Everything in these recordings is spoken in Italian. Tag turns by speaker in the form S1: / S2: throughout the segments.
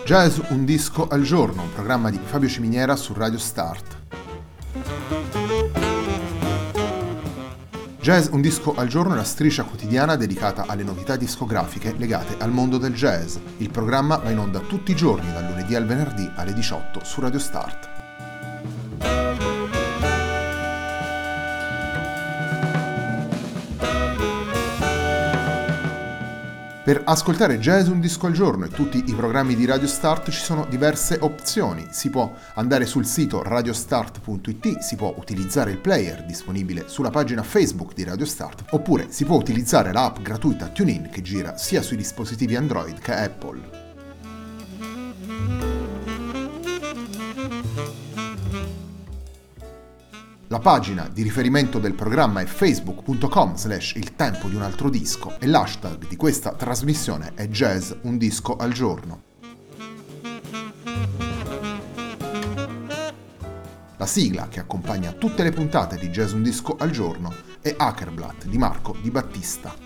S1: Jazz un disco al giorno, un programma di Fabio Ciminiera su Radio Start. Jazz un disco al giorno è la striscia quotidiana dedicata alle novità discografiche legate al mondo del jazz. Il programma va in onda tutti i giorni, dal lunedì al venerdì alle 18 su Radio Start. Per ascoltare Jazz un disco al giorno e tutti i programmi di Radio Start ci sono diverse opzioni. Si può andare sul sito radiostart.it, si può utilizzare il player disponibile sulla pagina Facebook di Radio Start, oppure si può utilizzare l'app gratuita TuneIn che gira sia sui dispositivi Android che Apple. La pagina di riferimento del programma è facebook.com/il tempo di un altro disco e l'hashtag di questa trasmissione è Jazz un disco al giorno. La sigla che accompagna tutte le puntate di Jazz un disco al giorno è Hackerblatt di Marco Di Battista.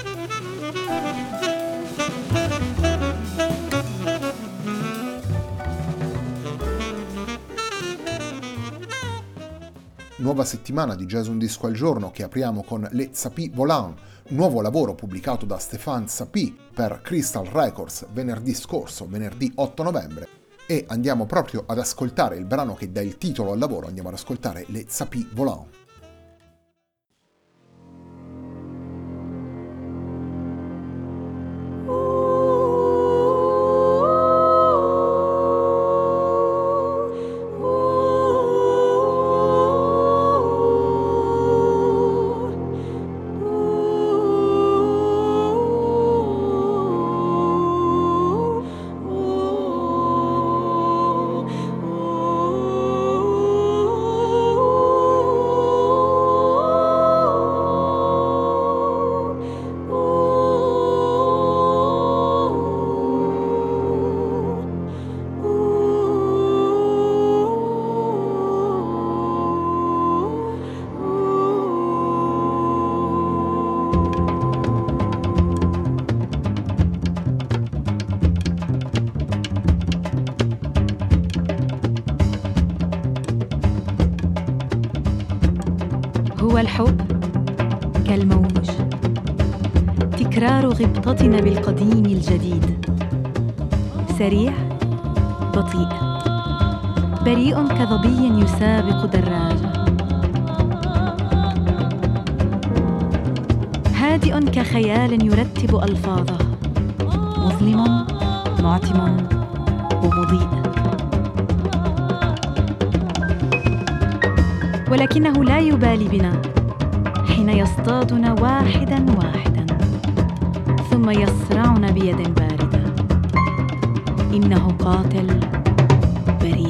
S1: Nuova settimana di Jazz un disco al giorno che apriamo con Les Sapis Volants, nuovo lavoro pubblicato da Stéphane Sapis per Crystal Records venerdì scorso, venerdì 8 novembre, e andiamo proprio ad ascoltare il brano che dà il titolo al lavoro, andiamo ad ascoltare Les Sapis Volants.
S2: هو الحب كالموج تكرار غبطتنا بالقديم الجديد سريع بطيء بريء كظبي يسابق دراجة هادئ كخيال يرتب ألفاظه مظلم معتم ومضيء ولكنه لا يبالي بنا حين يصطادنا واحداً واحداً ثم يصرعنا بيد باردة إنه قاتل بريء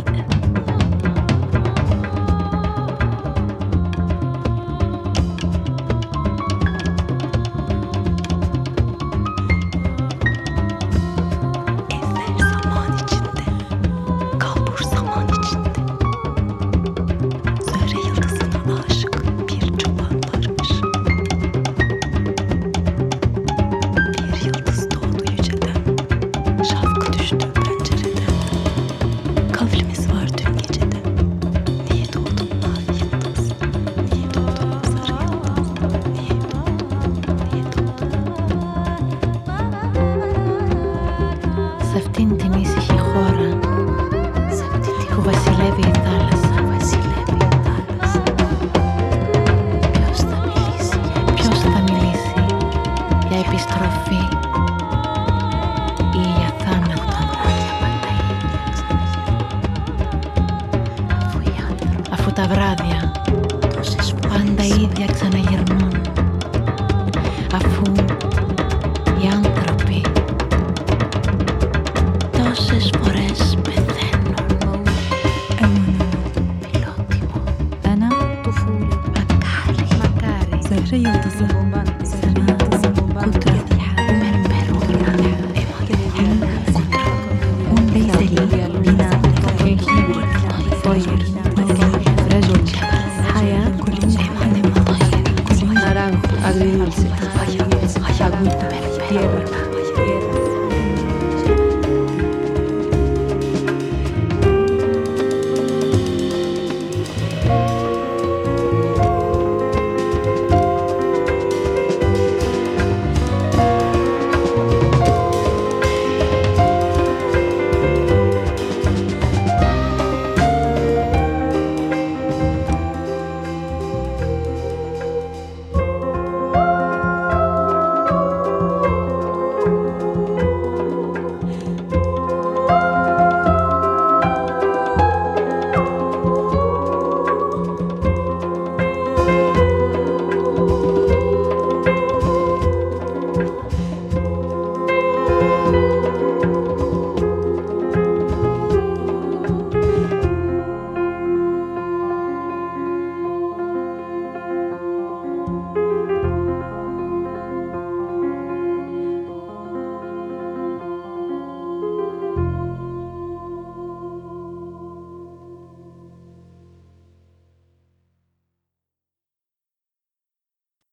S2: Τα βράδια, πάντα ίδια ξαναγυρνούν, αφού οι άνθρωποι τόσες φορές πεθαίνουν. Φιλότιμο, أنا طفولة مكاري زهرية وتصبوبات سماء قدرة مرمر ليس لي بناء طير agridulce, agüita, tierra.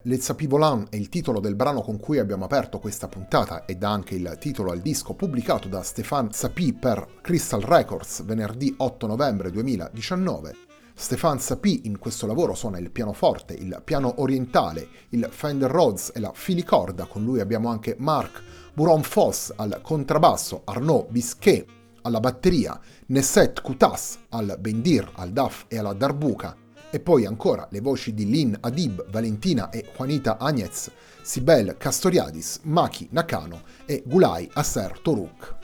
S1: Les Sapis Volants è il titolo del brano con cui abbiamo aperto questa puntata ed anche il titolo al disco pubblicato da Stéphane Sapie per Crystal Records venerdì 8 novembre 2019. Stéphane Sapie in questo lavoro suona il pianoforte, il piano orientale, il Fender Rhodes e la filicorda. Con lui abbiamo anche Marc Buron-Foss al contrabbasso, Arnaud Bisquet alla batteria, Nesset Koutas al bendir, al daf e alla darbuka, e poi ancora le voci di Lynn Adib, Valentina e Juanita Agnez, Sibel Castoriadis, Maki Nakano e Gulay Aser Toruk.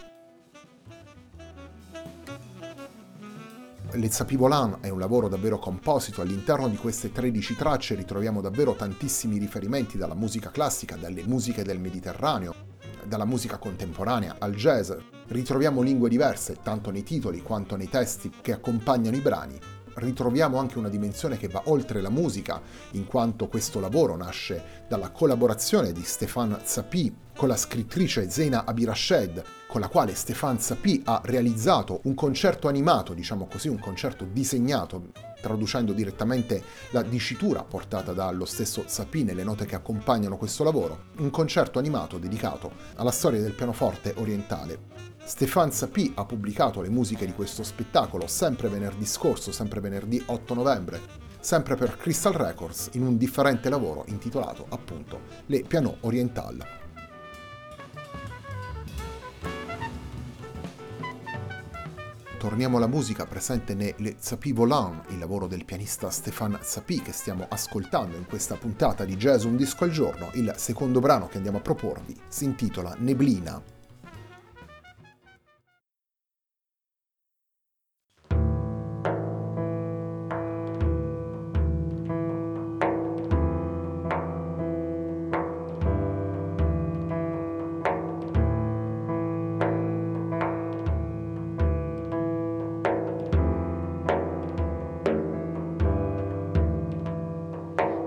S1: Les Sapis Volants è un lavoro davvero composito. All'interno di queste 13 tracce ritroviamo davvero tantissimi riferimenti dalla musica classica, dalle musiche del Mediterraneo, dalla musica contemporanea al jazz. Ritroviamo lingue diverse, tanto nei titoli quanto nei testi che accompagnano i brani. Ritroviamo anche una dimensione che va oltre la musica, in quanto questo lavoro nasce dalla collaborazione di Stéphane Sapie con la scrittrice Zeina Abirashed, con la quale Stéphane Sapie ha realizzato un concerto animato, diciamo così, un concerto disegnato, traducendo direttamente la dicitura portata dallo stesso Sapie nelle note che accompagnano questo lavoro, un concerto animato dedicato alla storia del pianoforte orientale. Stéphane Sapie ha pubblicato le musiche di questo spettacolo sempre venerdì scorso, sempre venerdì 8 novembre, sempre per Crystal Records, in un differente lavoro intitolato appunto Les Pianos Orientales. Torniamo alla musica presente nei Les Sapis Volants, il lavoro del pianista Stéphane Sapie che stiamo ascoltando in questa puntata di Jazz Un Disco al Giorno. Il secondo brano che andiamo a proporvi si intitola Neblina.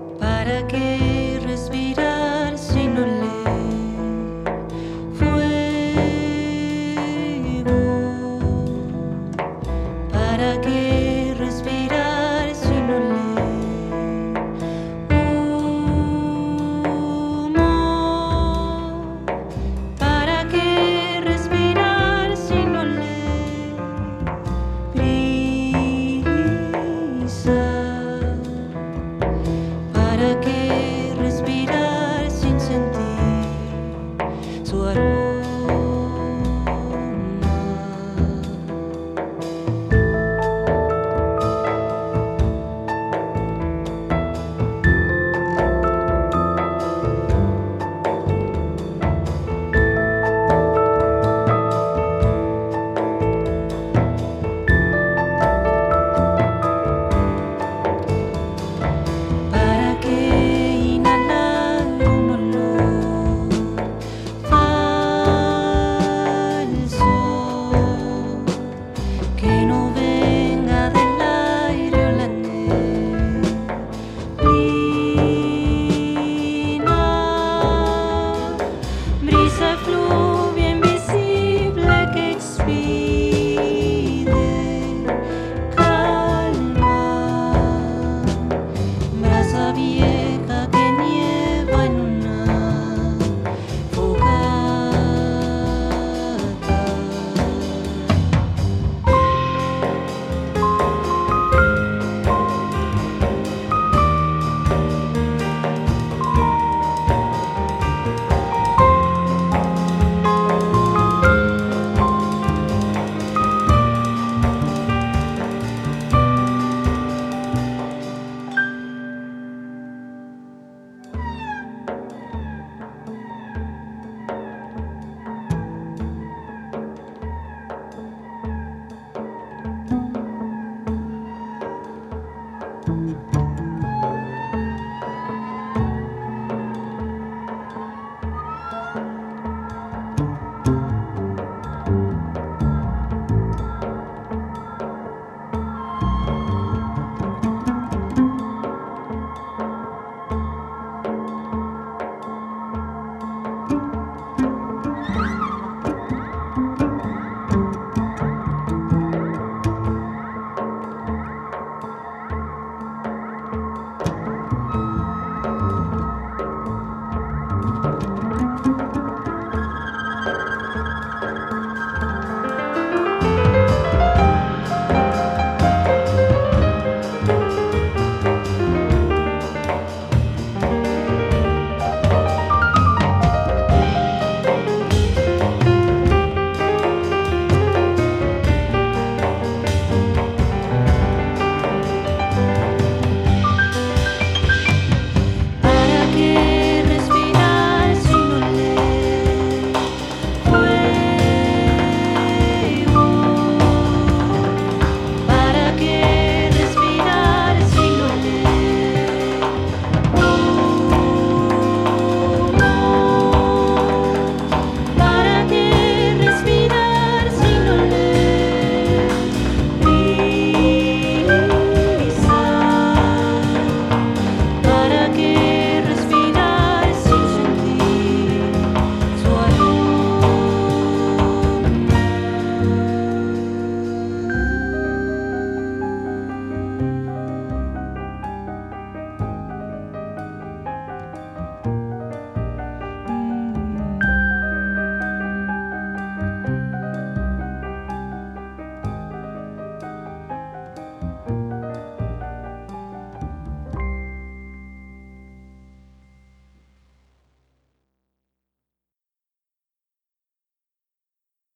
S2: ¿Para qué respirar si no leer? Fue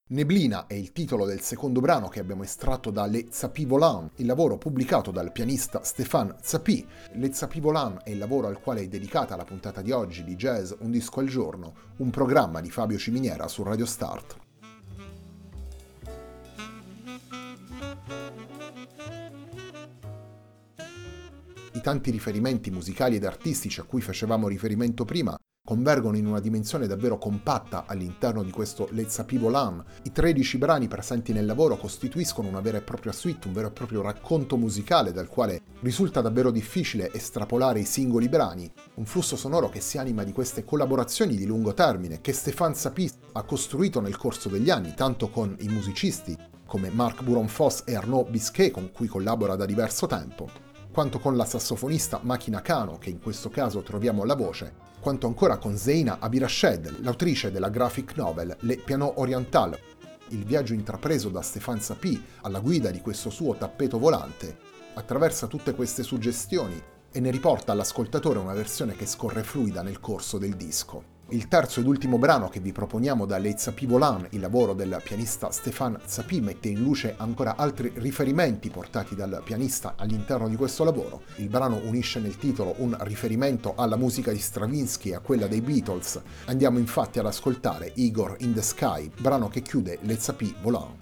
S1: Neblina è il titolo del secondo brano che abbiamo estratto da Le Zappi Volant, il lavoro pubblicato dal pianista Stéphane Zappi. Le Zappi Volant è il lavoro al quale è dedicata la puntata di oggi di Jazz Un Disco al Giorno, un programma di Fabio Ciminiera su Radio Start. I tanti riferimenti musicali ed artistici a cui facevamo riferimento prima convergono in una dimensione davvero compatta all'interno di questo Le Zappi Volant. I 13 brani presenti nel lavoro costituiscono una vera e propria suite, un vero e proprio racconto musicale dal quale risulta davvero difficile estrapolare i singoli brani, un flusso sonoro che si anima di queste collaborazioni di lungo termine che Stéphane Zappi ha costruito nel corso degli anni, tanto con i musicisti come Marc Buron-Foss e Arnaud Bisquet, con cui collabora da diverso tempo, quanto con la sassofonista Maki Nakano, che in questo caso troviamo alla voce, quanto ancora con Zeina Abirashed, l'autrice della graphic novel Le Piano Oriental, il viaggio intrapreso da Stéphane Zappi alla guida di questo suo tappeto volante, attraversa tutte queste suggestioni e ne riporta all'ascoltatore una versione che scorre fluida nel corso del disco. Il terzo ed ultimo brano che vi proponiamo da Le Zappi Volant, il lavoro del pianista Stéphane Zappi, mette in luce ancora altri riferimenti portati dal pianista all'interno di questo lavoro. Il brano unisce nel titolo un riferimento alla musica di Stravinsky e a quella dei Beatles. Andiamo infatti ad ascoltare Igor in the Sky, brano che chiude Le Zappi Volant.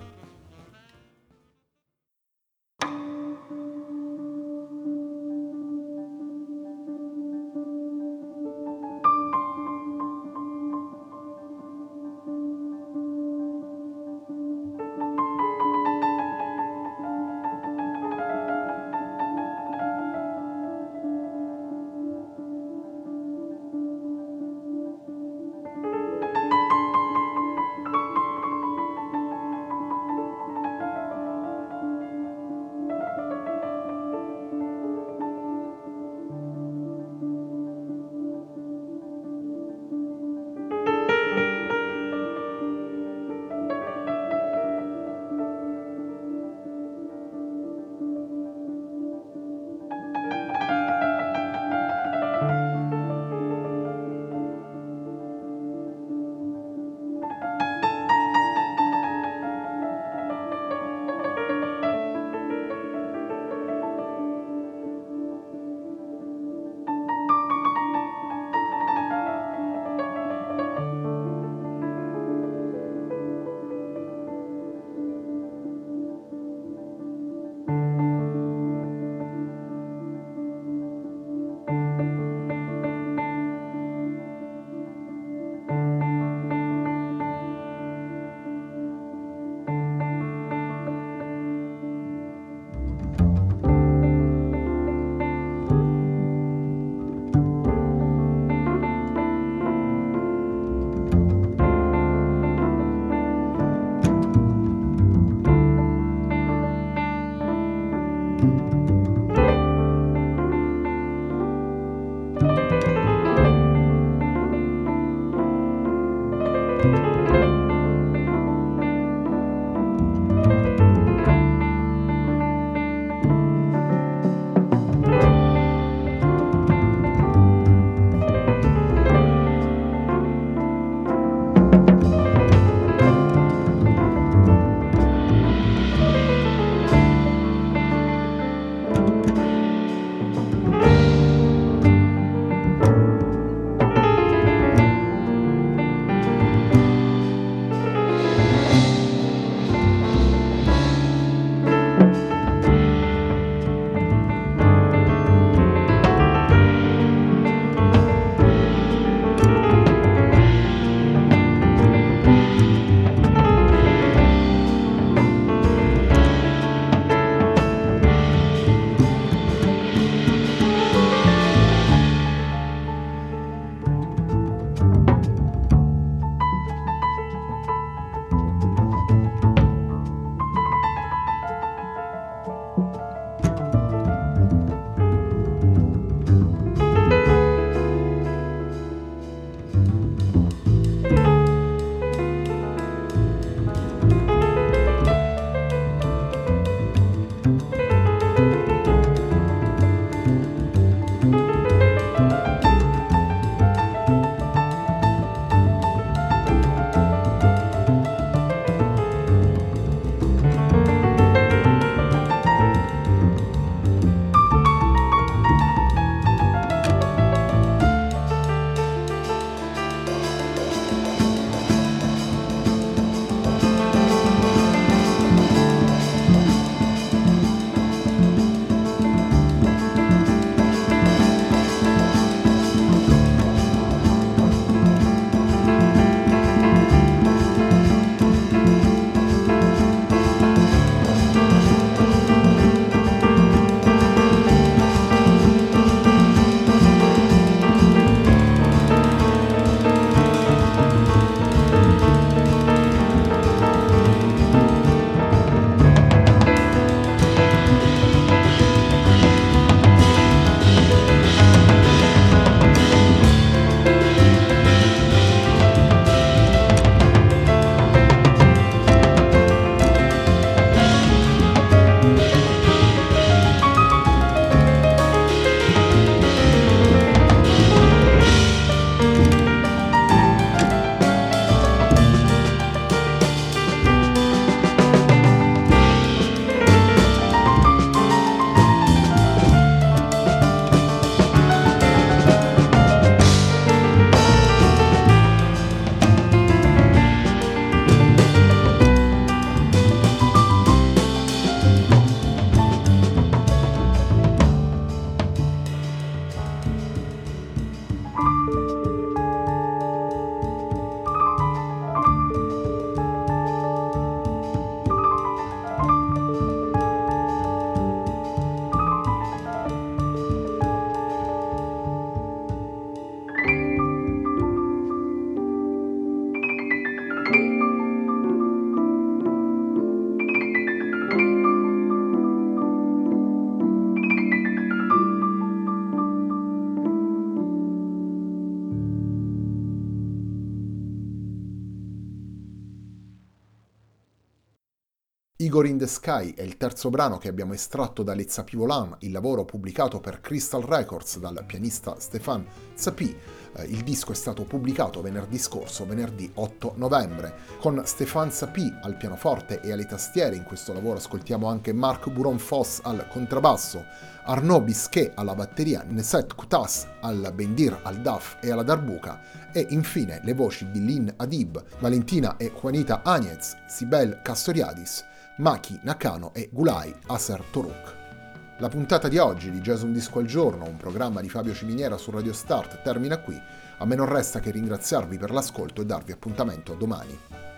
S1: Igor in the Sky è il terzo brano che abbiamo estratto da Les Sapis Volants, il lavoro pubblicato per Crystal Records dal pianista Stéphane Sapis. Il disco è stato pubblicato venerdì scorso, venerdì 8 novembre. Con Stéphane Sapis al pianoforte e alle tastiere in questo lavoro ascoltiamo anche Marc Buron-Foss al contrabbasso, Arnaud Bisquet alla batteria, Neset Koutas al bendir, al daf e alla darbuka e infine le voci di Lynn Adib, Valentina e Juanita Áñez, Sibel Castoriadis, Maki Nakano e Gulay Aser Toruk. La puntata di oggi di Jazz Un Disco al Giorno, un programma di Fabio Ciminiera su Radio Start, termina qui. A me non resta che ringraziarvi per l'ascolto e darvi appuntamento domani.